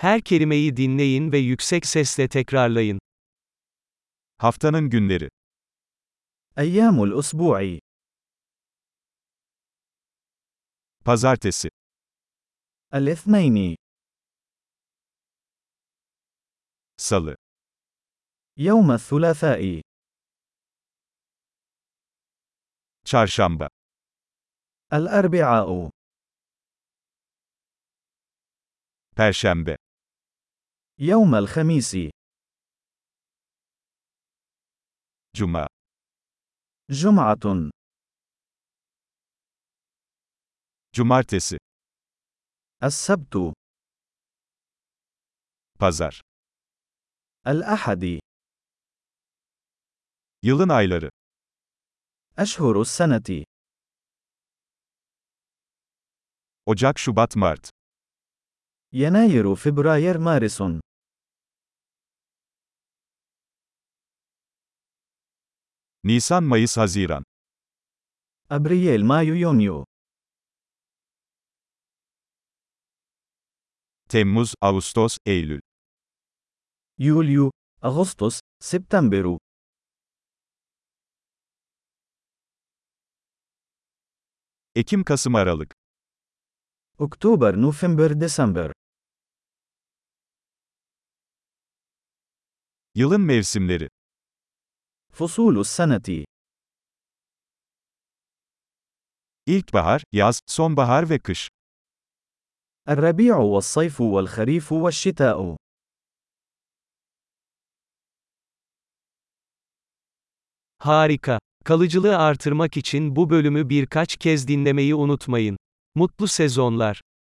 Her kelimeyi dinleyin ve yüksek sesle tekrarlayın. Haftanın günleri. أيام الأسبوع: Pazartesi, الاثنين، Salı, يوم الثلاثاء، Çarşamba, الأربعاء، Perşembe, يوم الخميس، Cuma, جمعة، Cumartesi, السبت، Pazar. الأحد. Yılın ayları. أشهر السنة: Ocak, Şubat, Mart. يناير، فبراير، مارس. Nisan, Mayıs, Haziran. أبريل، مايو، يونيو. Temmuz, Ağustos, Eylül. يوليو، أغسطس، سبتمبر. Ekim, Kasım, Aralık. أكتوبر، نوفمبر، ديسمبر. Yılın mevsimleri. فصول السنة: İlkbahar, yaz, sonbahar ve kış. الربيع والصيف والخريف والشتاء. Harika. Kalıcılığı artırmak için bu bölümü birkaç kez dinlemeyi unutmayın. Mutlu sezonlar.